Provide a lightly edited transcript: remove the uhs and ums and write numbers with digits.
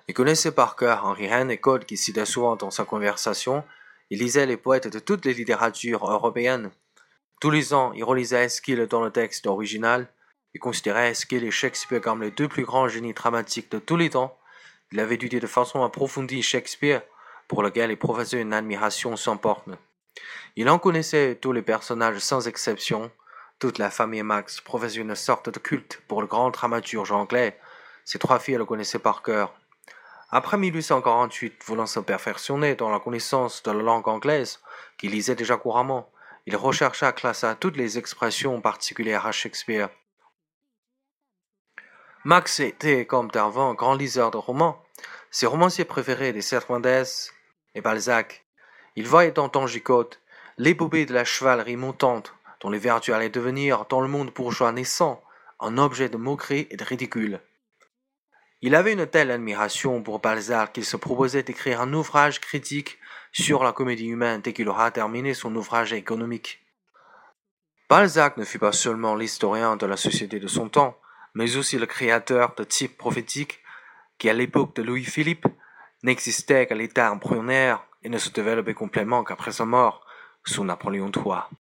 Il connaissait par cœur Henri Heine et Code qui citait souvent dans sa conversation. Il lisait les poètes de toutes les littératures européennes. Tous les ans, il relisait Esquil dans le texte original. Il considérait Esquil et Shakespeare comme les deux plus grands génies dramatiques de tous les temps. Il avait étudié de façon approfondie Shakespeare, pour lequel il professait une admiration sans borne. Il en connaissait tous les personnages sans exception. Toute la famille Max professait une sorte de culte pour le grand dramaturge anglais. Ses trois filles le connaissaient par cœur. Après 1848, voulant se perfectionner dans la connaissance de la langue anglaise, qu'il lisait déjà couramment, il rechercha à classer toutes les expressions particulières à Shakespeare. Max était, comme Darwin, un grand liseur de romans. Ses romanciers préférés étaient Cervantes et Balzac. Il voyait dans Don Quichotte l'épopée de la chevalerie montante, dont les vertus allaient devenir, dans le monde bourgeois naissant, un objet de moquerie et de ridicule. Il avait une telle admiration pour Balzac qu'il se proposait d'écrire un ouvrage critique sur la comédie humaine dès qu'il aura terminé son ouvrage économique. Balzac ne fut pas seulement l'historien de la société de son temps, mais aussi le créateur de types prophétiques qui, à l'époque de Louis-Philippe, n'existaient qu'à l'état embryonnaire et ne se développaient complètement qu'après sa mort, sous Napoléon III.